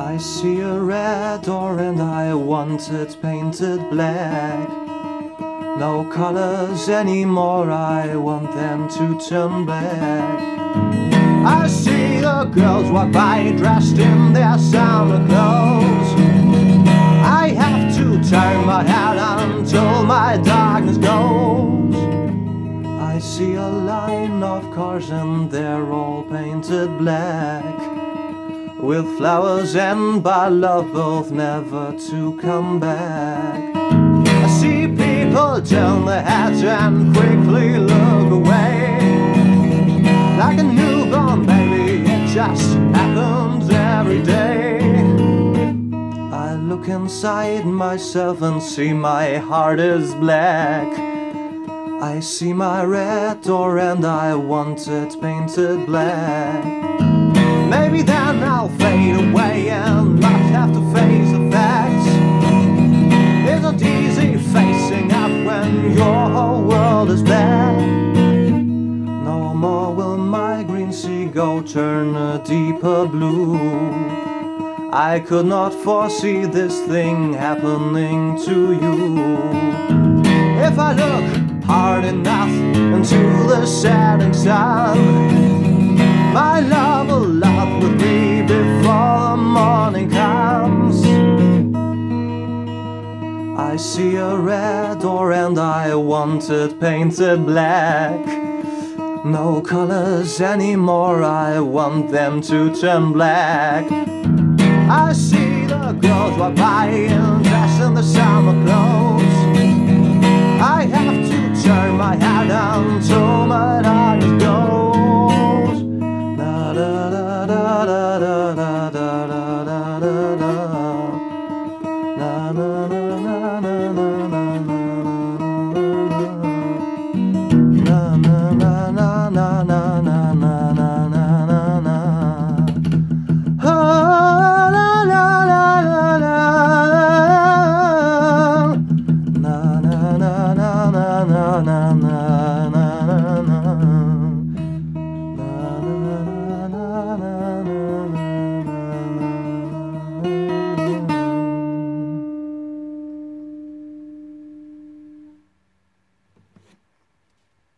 I see a red door and I want it painted black. No colors anymore, I want them to turn black. I see the girls walk by dressed in their summer clothes. I have to turn my head until my darkness goes. I see a line of cars and they're all painted black, with flowers and by love both never to come back. I see people turn their heads and quickly look away, like a newborn baby, it just happens every day. I look inside myself and see my heart is black. I see my red door and I want it painted black. Maybe then I'll fade away and not have to face the facts. It's not easy facing up when your whole world is black. No more will my green seagull turn a deeper blue. I could not foresee this thing happening to you. If I look hard enough into the setting sun, my love will laugh with me before the morning comes. I see a red door and I want it painted black. No colors anymore, I want them to turn black. I see the girls walk by and dressed in the summer clothes. I have to turn my head until my darkness goes. Da da da da da da da da da da da.